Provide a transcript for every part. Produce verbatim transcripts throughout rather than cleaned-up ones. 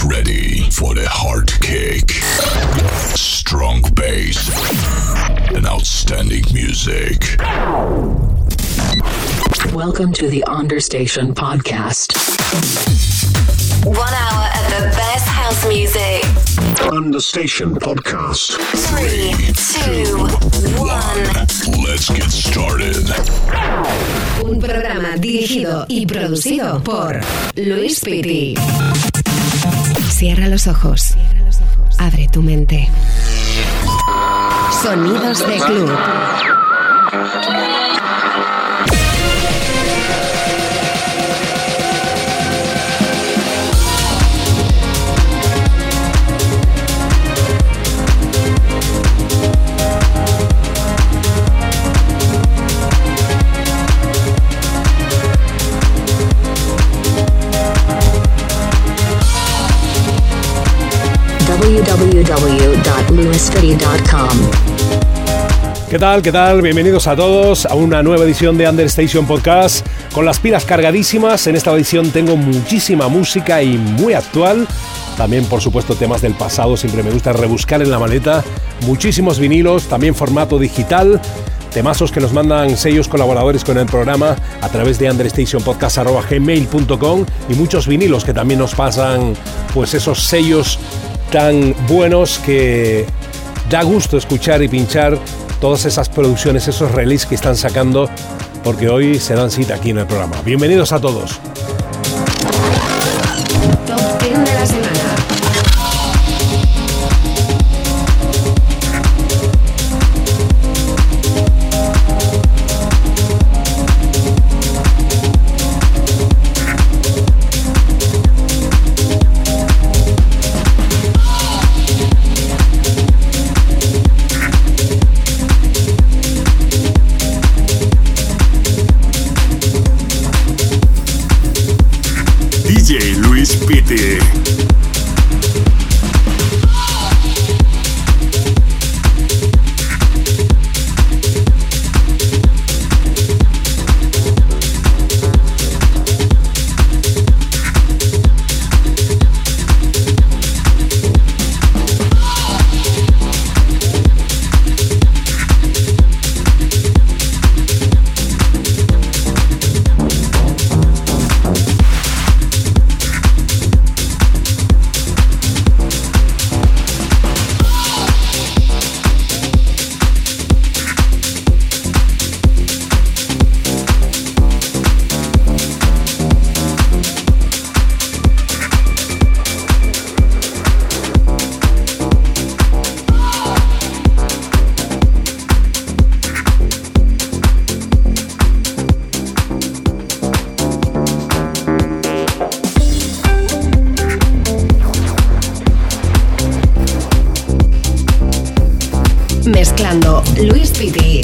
Get ready for the hard kick, strong bass, and outstanding music. Welcome to the Understation Podcast. One hour of the best house music. Understation Podcast. Three, two, one. Let's get started. Un programa dirigido y producido por Luis Pitti. Cierra los ojos. Abre tu mente. Sonidos de club. w w w dot luis pitti dot com. ¿Qué tal? ¿Qué tal? Bienvenidos a todos a una nueva edición de Understation Podcast con las pilas cargadísimas. En esta edición tengo muchísima música y muy actual. También, por supuesto, temas del pasado. Siempre me gusta rebuscar en la maleta. Muchísimos vinilos, también formato digital. Temazos que nos mandan sellos colaboradores con el programa a través de understationpodcast arroba gmail punto com y muchos vinilos que también nos pasan pues esos sellos tan buenos que da gusto escuchar y pinchar todas esas producciones, esos releases que están sacando, porque hoy se dan cita aquí en el programa. Bienvenidos a todos. Top diez de la semana. D J Luis Pitti. Mezclando Luis Pitti.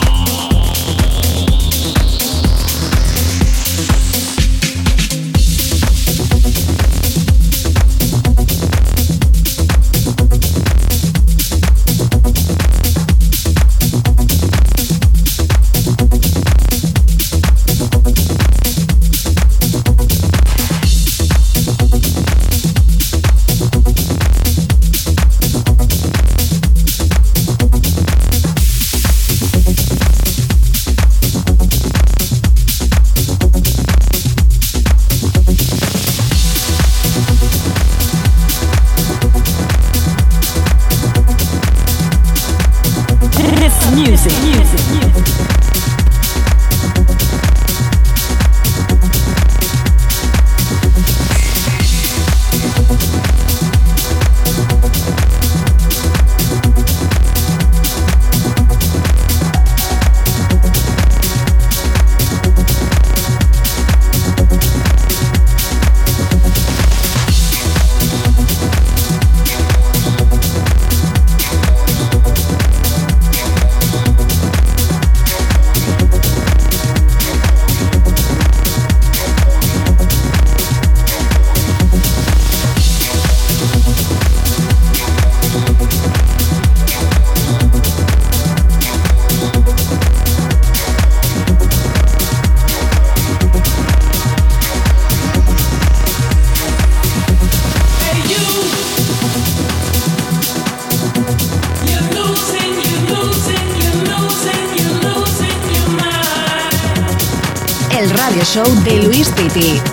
radio show de Luis Pitti.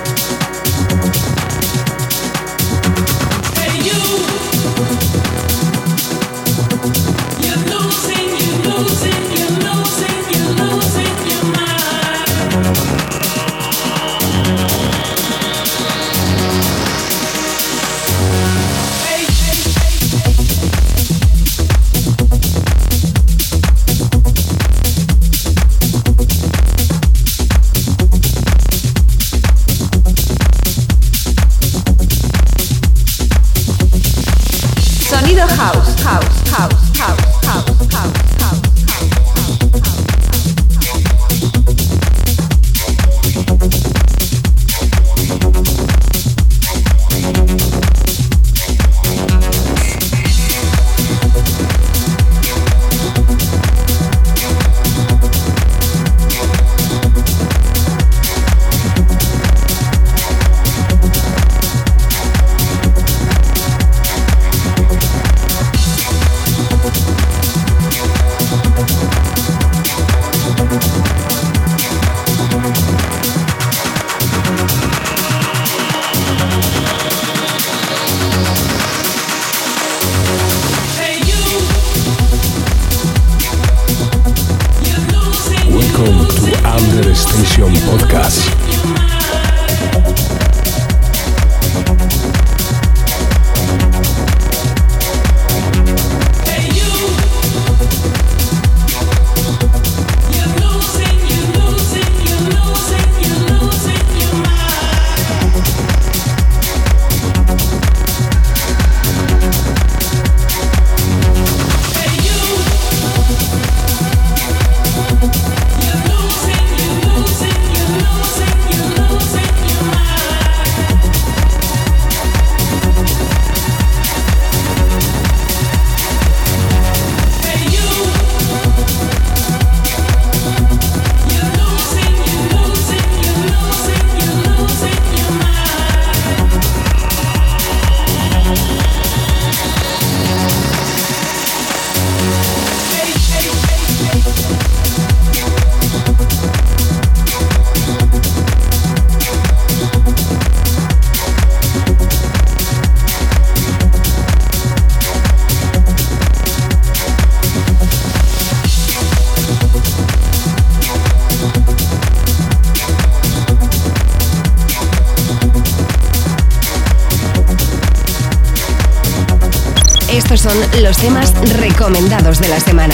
Estos son los temas recomendados de la semana.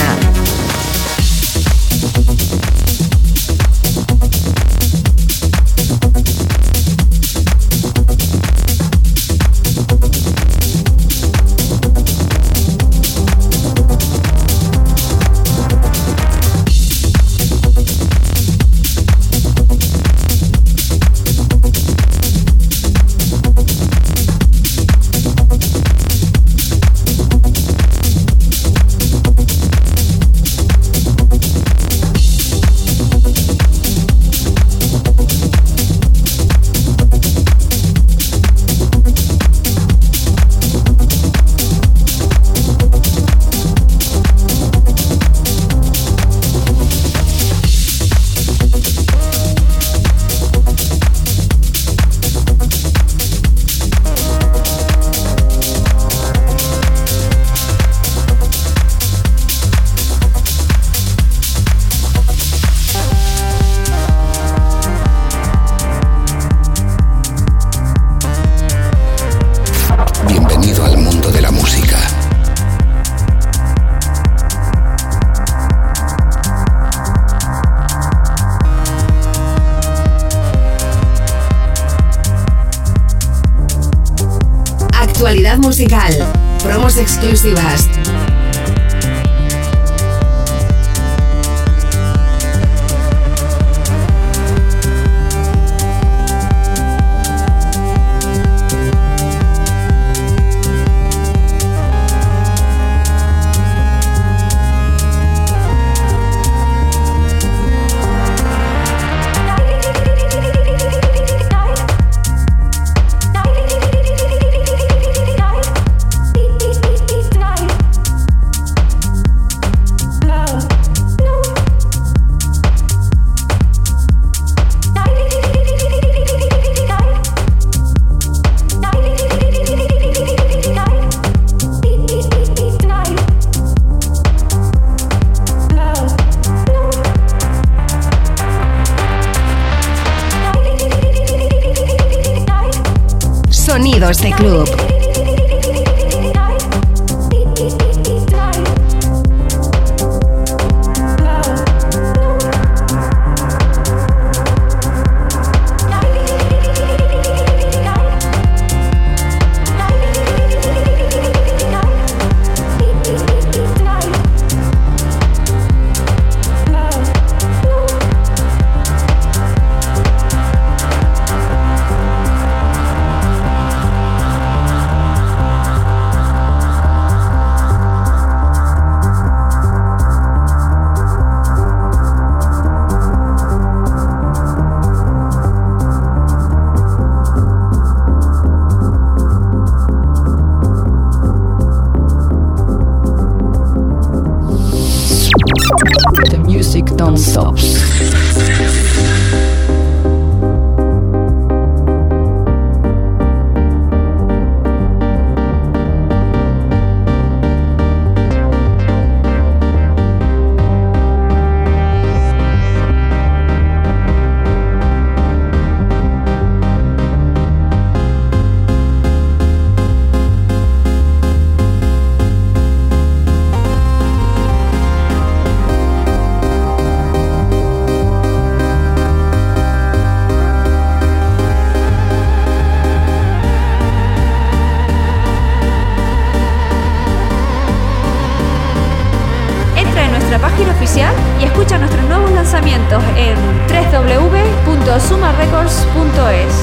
Actualidad musical, promos exclusivas. Club. Don't stop. Y escucha nuestros nuevos lanzamientos en doble u doble u doble u punto suma records punto es.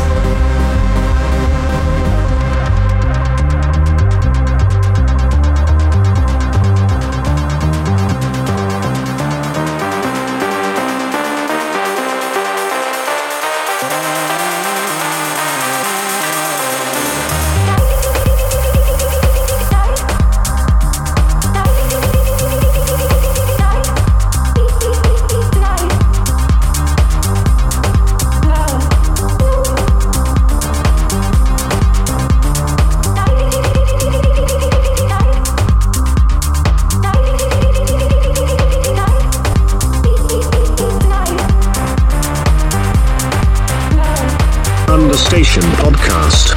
Understation Podcast.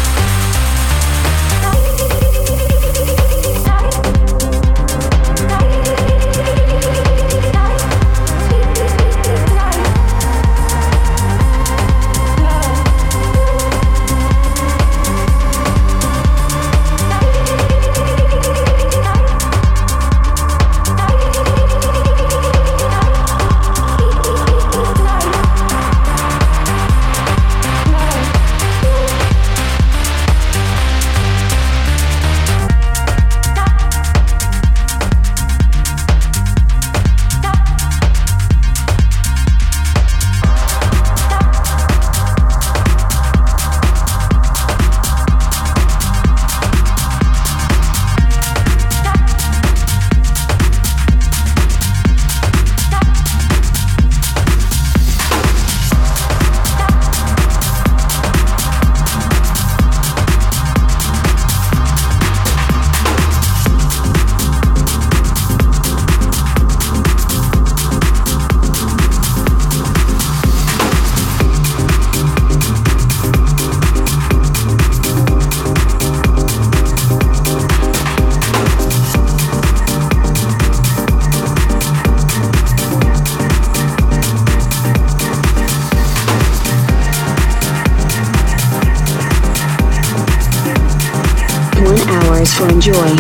To enjoy.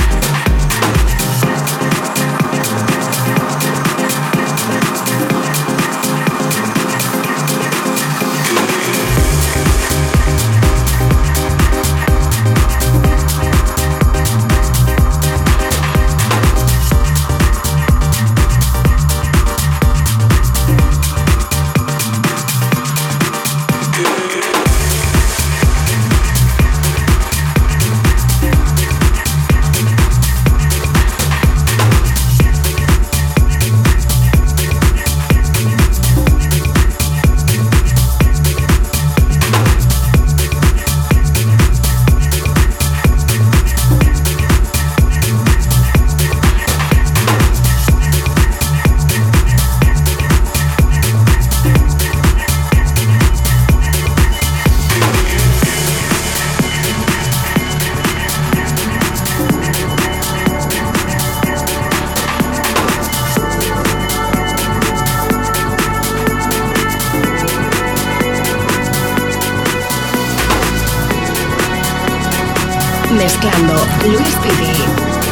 Mezclando Luis Pidi.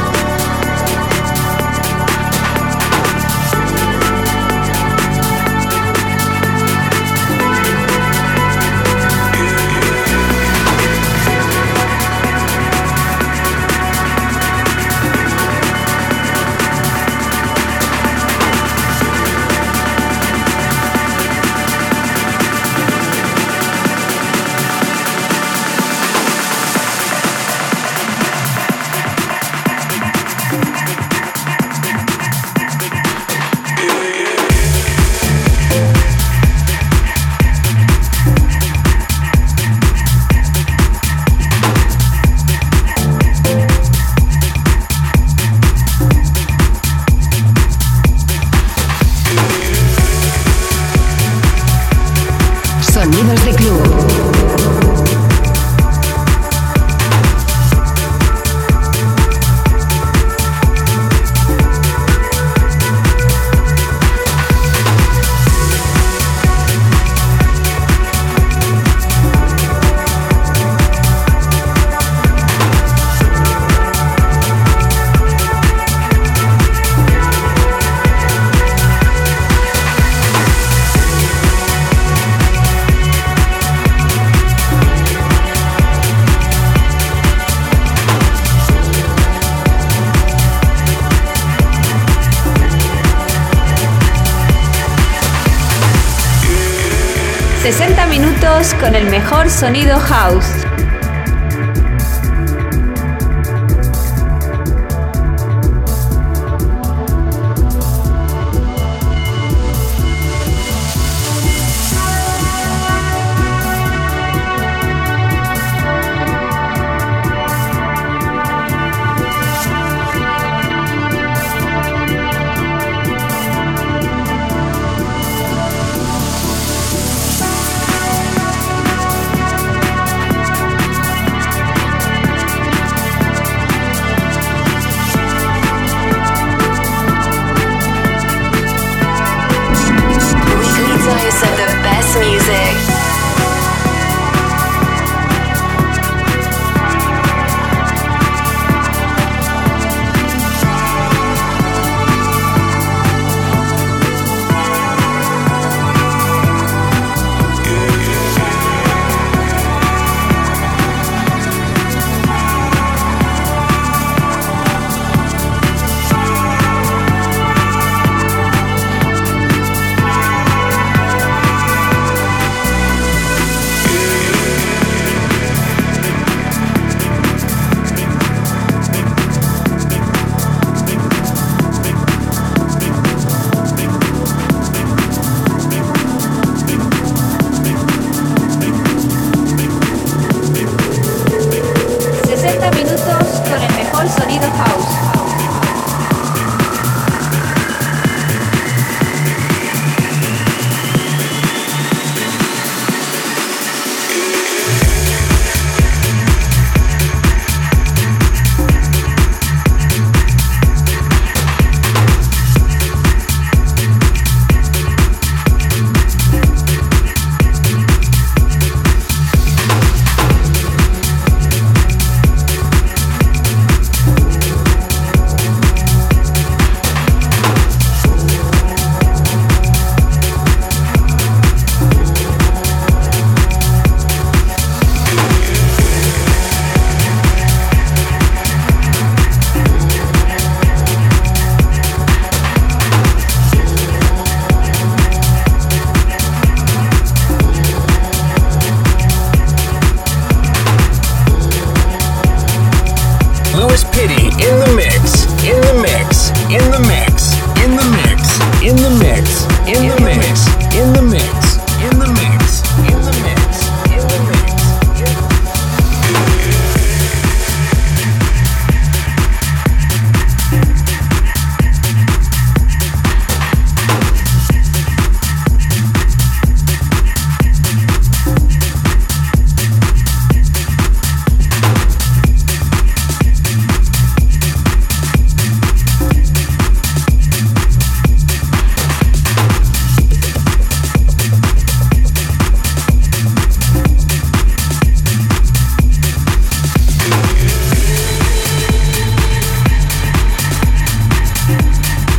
Sonidos de club. sesenta minutos con el mejor sonido house.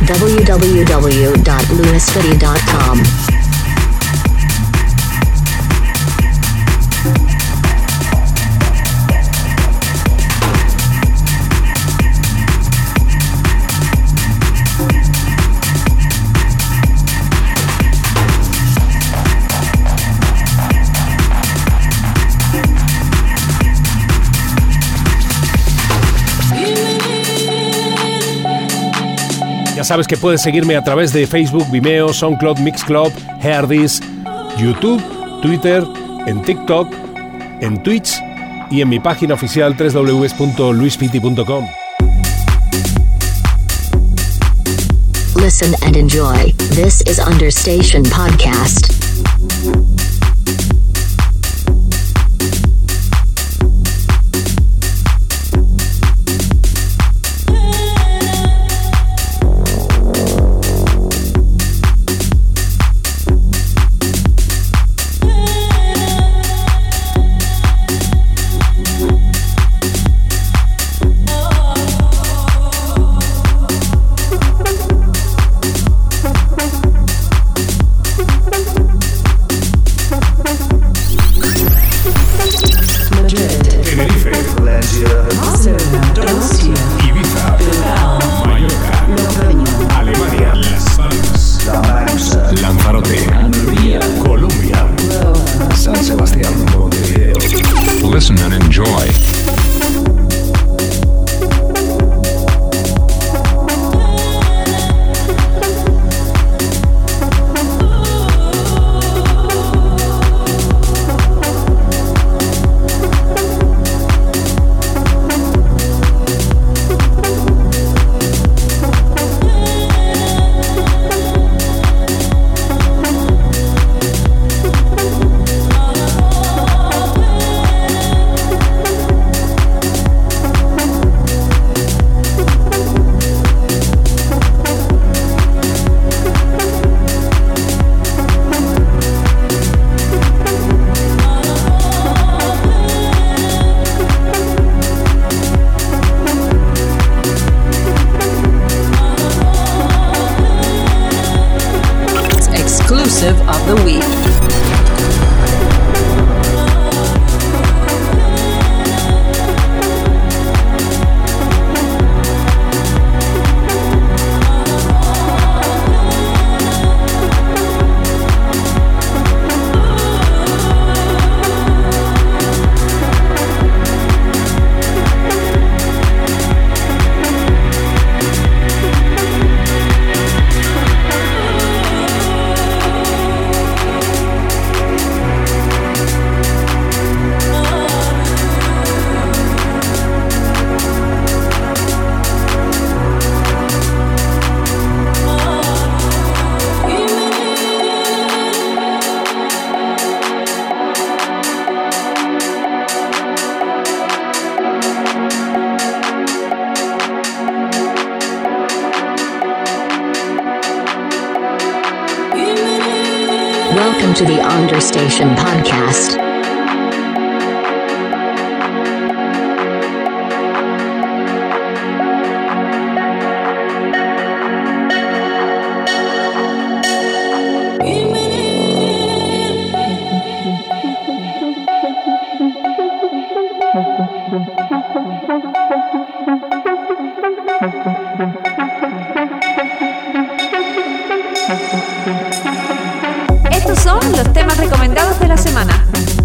w w w dot lunastudy dot com. Ya sabes que puedes seguirme a través de Facebook, Vimeo, SoundCloud, Mixcloud, Heardis, YouTube, Twitter, en TikTok, en Twitch y en mi página oficial w w w punto luis fiti punto com. Listen and enjoy. This is Understation Podcast. Of the week. Welcome to the Understation Podcast. Estos son los temas recomendados de la semana.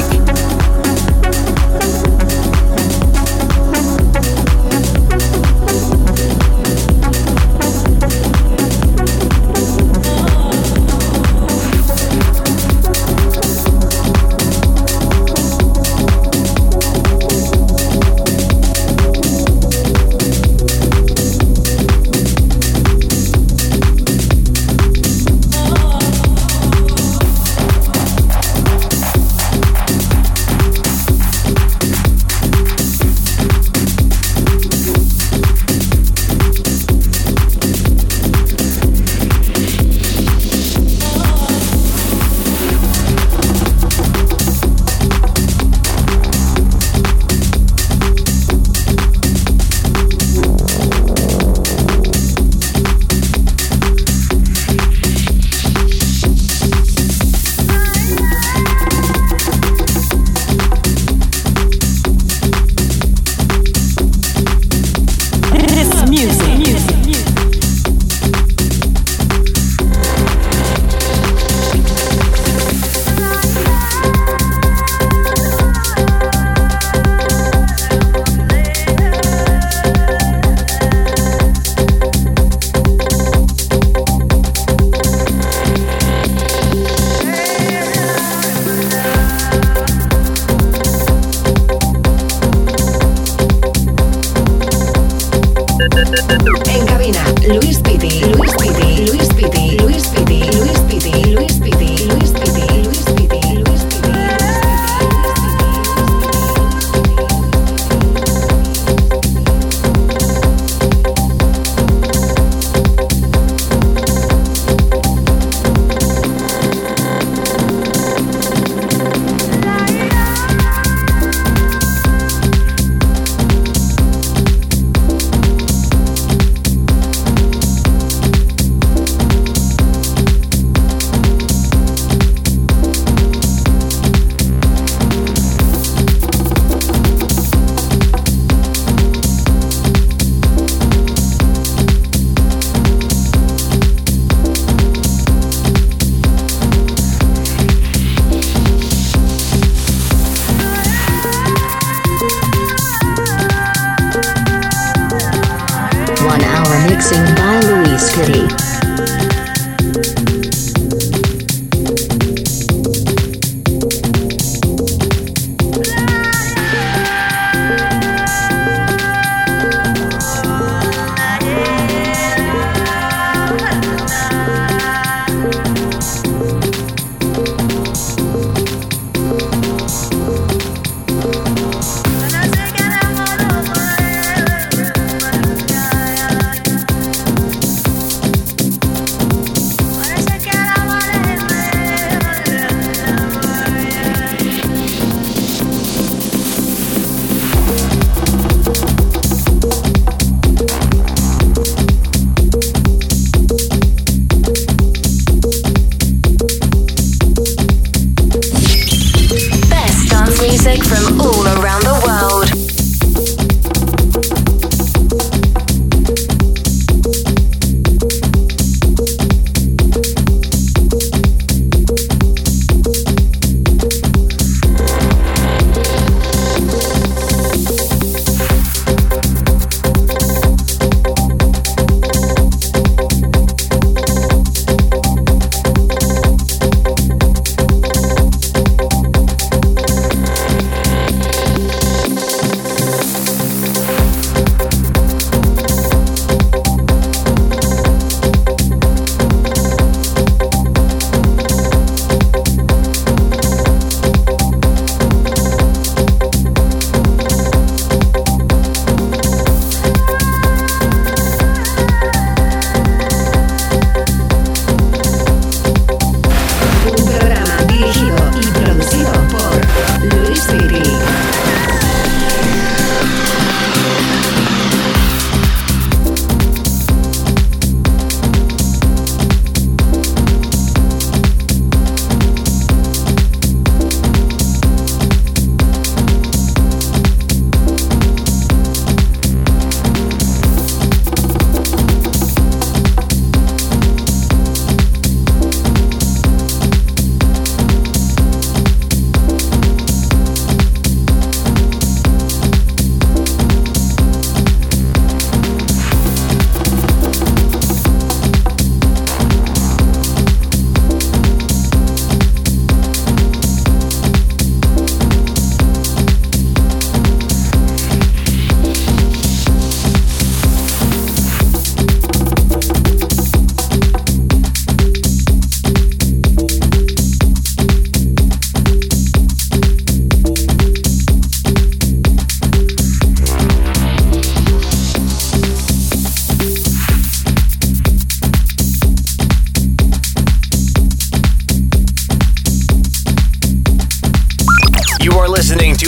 Mixing by Luis Kitty.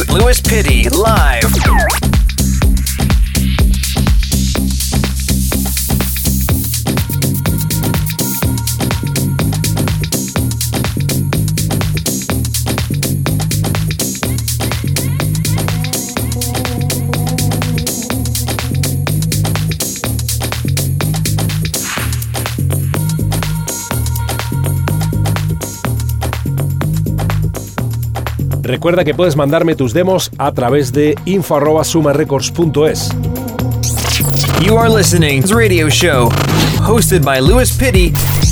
with Louis Pitty live. Recuerda que puedes mandarme tus demos a través de info arroba suma records punto es. You are listening to the radio show hosted by Louis Pitty.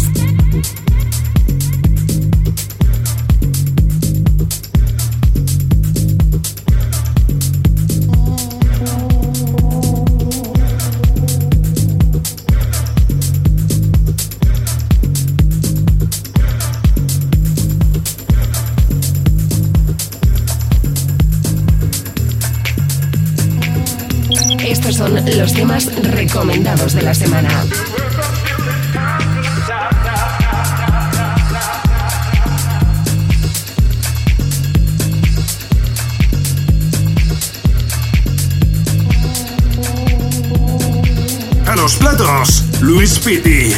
Son los temas recomendados de la semana. A los platos, Louis Pitty.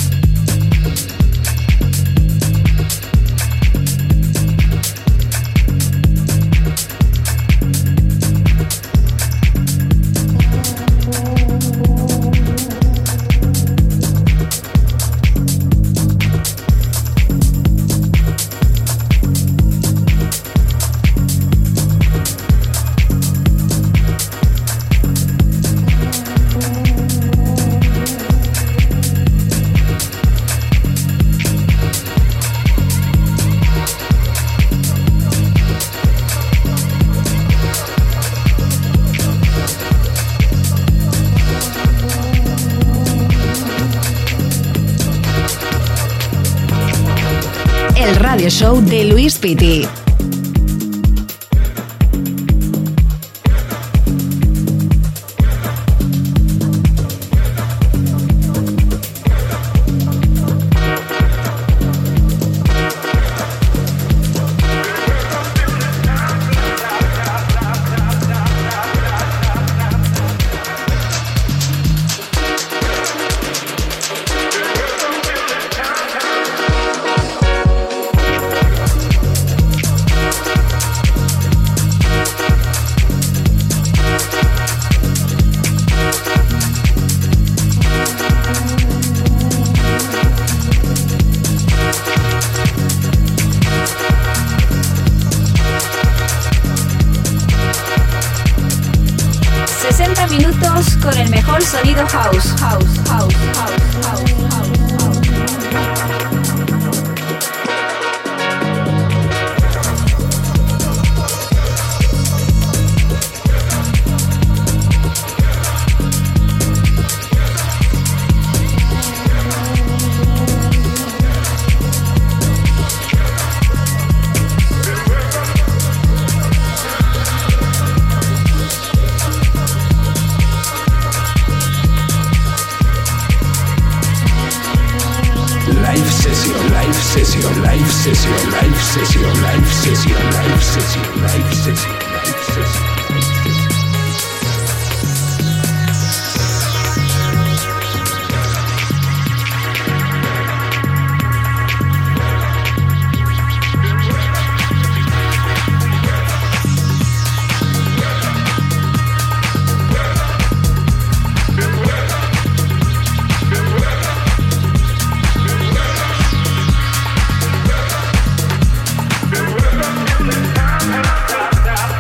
Radio Show de Louis Pitty. Con el mejor sonido house, house, house, house, house, house. session, live session, live session, live session, live session, live session, live session. Stop.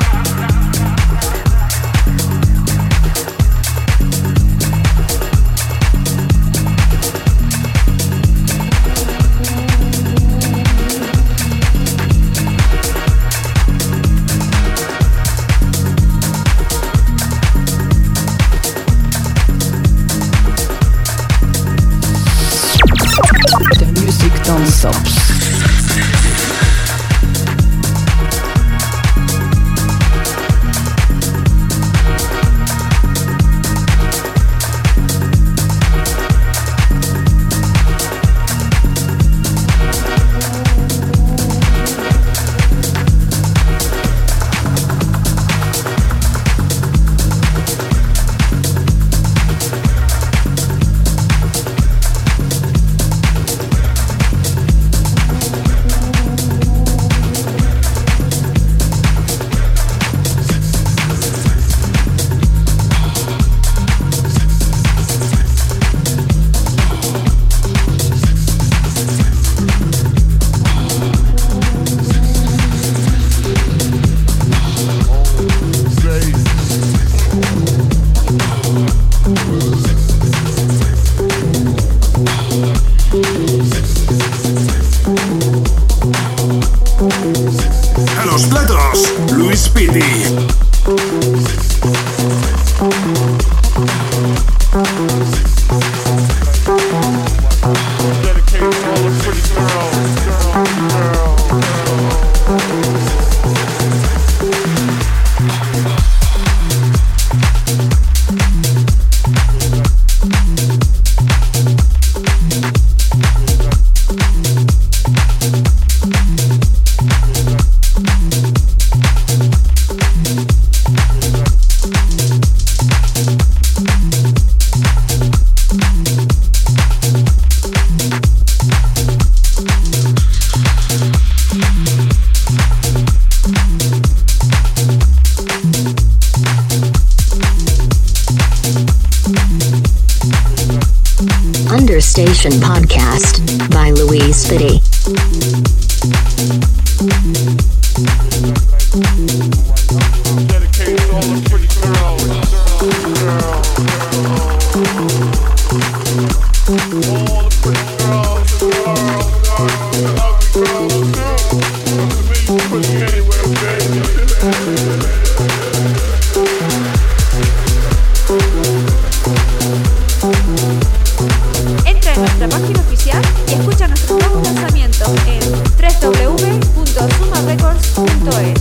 Understation Podcast by Louise Spitty. Entra en nuestra página oficial y escucha nuestros nuevos lanzamientos en doble u doble u doble u punto suma records punto es.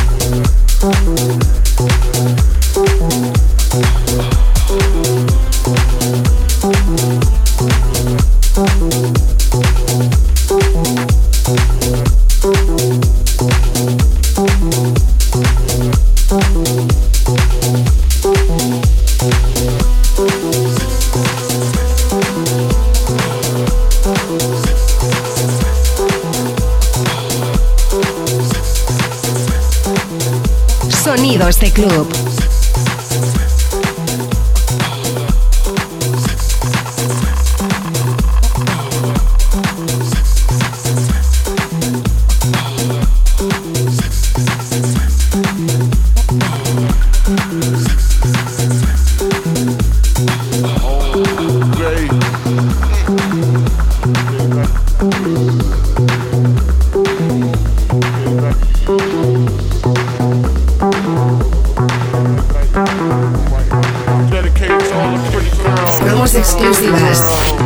Sonidos de club. Promos exclusivas.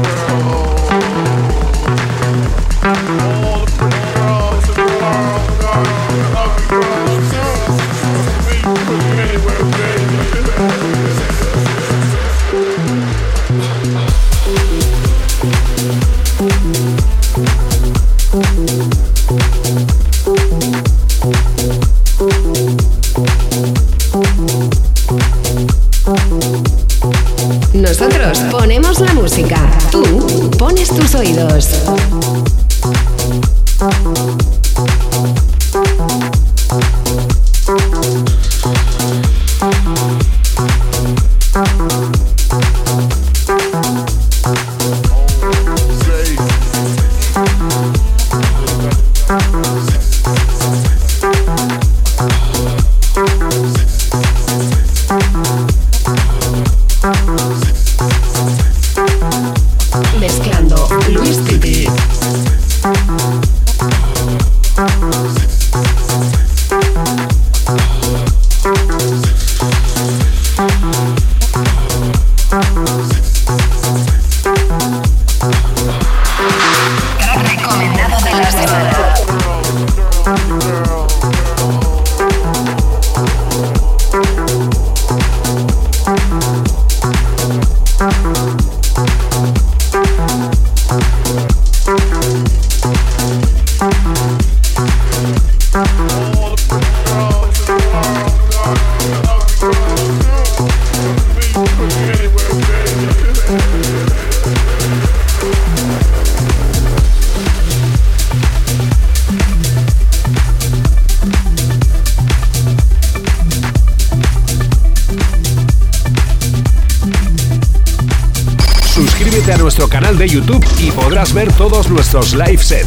Nosotros ponemos la música, tú pones tus oídos. Mezclando Luis Pitti. Recomendado de la semana. Suscríbete a nuestro canal de YouTube y podrás ver todos nuestros live sets.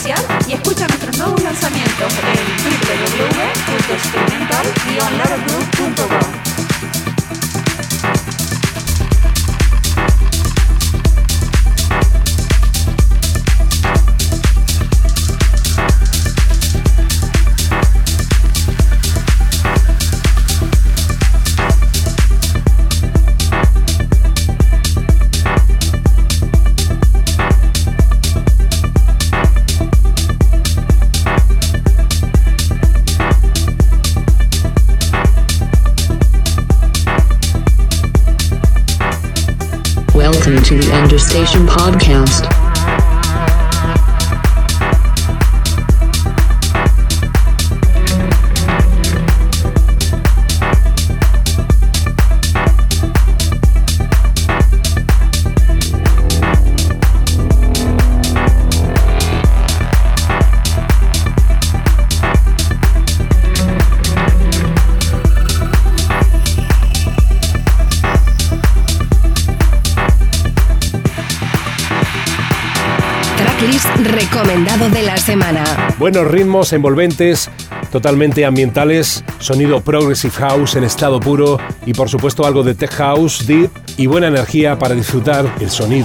oficial y escucha nuestros nuevos lanzamientos en w w w punto experimental guion lover group punto com. Welcome to the Understation Podcast. Recomendado de la semana. Buenos ritmos envolventes, totalmente ambientales, sonido progressive house en estado puro y por supuesto algo de tech house, deep y buena energía para disfrutar el sonido.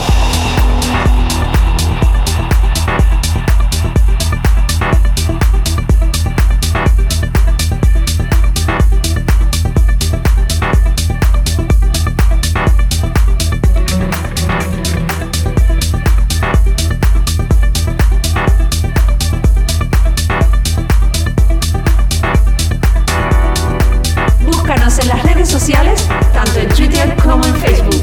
En las redes sociales, tanto en Twitter como en Facebook.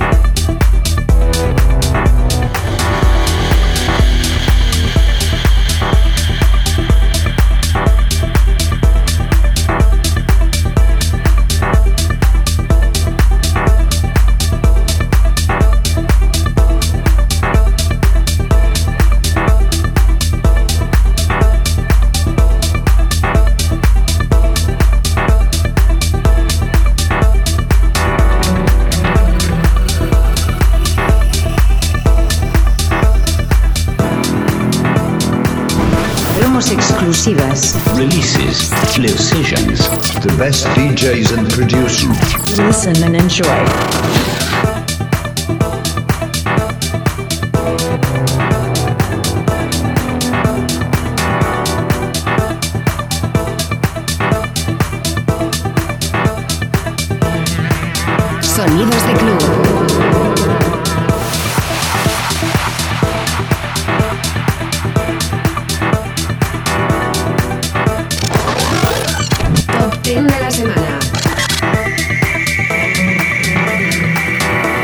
Exclusivas. Releases, live sessions, the best D Js and producers. Listen and enjoy. Sonidos de club. De la semana.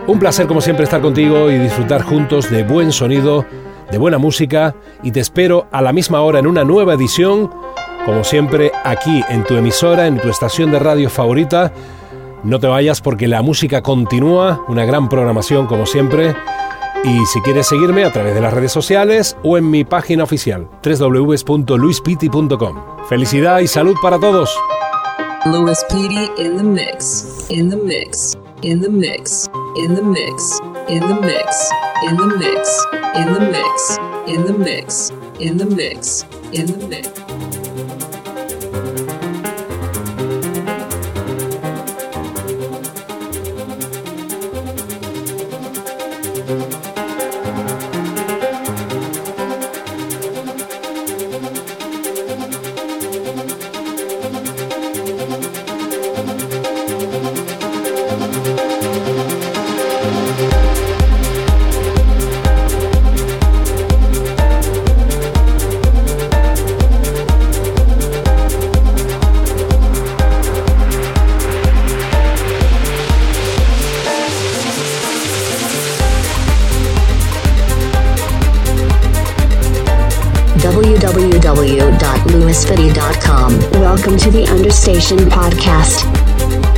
Un placer como siempre estar contigo y disfrutar juntos de buen sonido, de buena música, y te espero a la misma hora en una nueva edición, como siempre aquí en tu emisora, en tu estación de radio favorita. No te vayas porque la música continúa, una gran programación como siempre. Y si quieres seguirme a través de las redes sociales o en mi página oficial doble u doble u doble u punto luis piti punto com. Felicidad y salud para todos. Louis Pity in the mix, in the mix, in the mix, in the mix, in the mix, in the mix, in the mix, in the mix, in the mix, in the mix. w w w dot louis fitty dot com. Welcome to the Understation Podcast.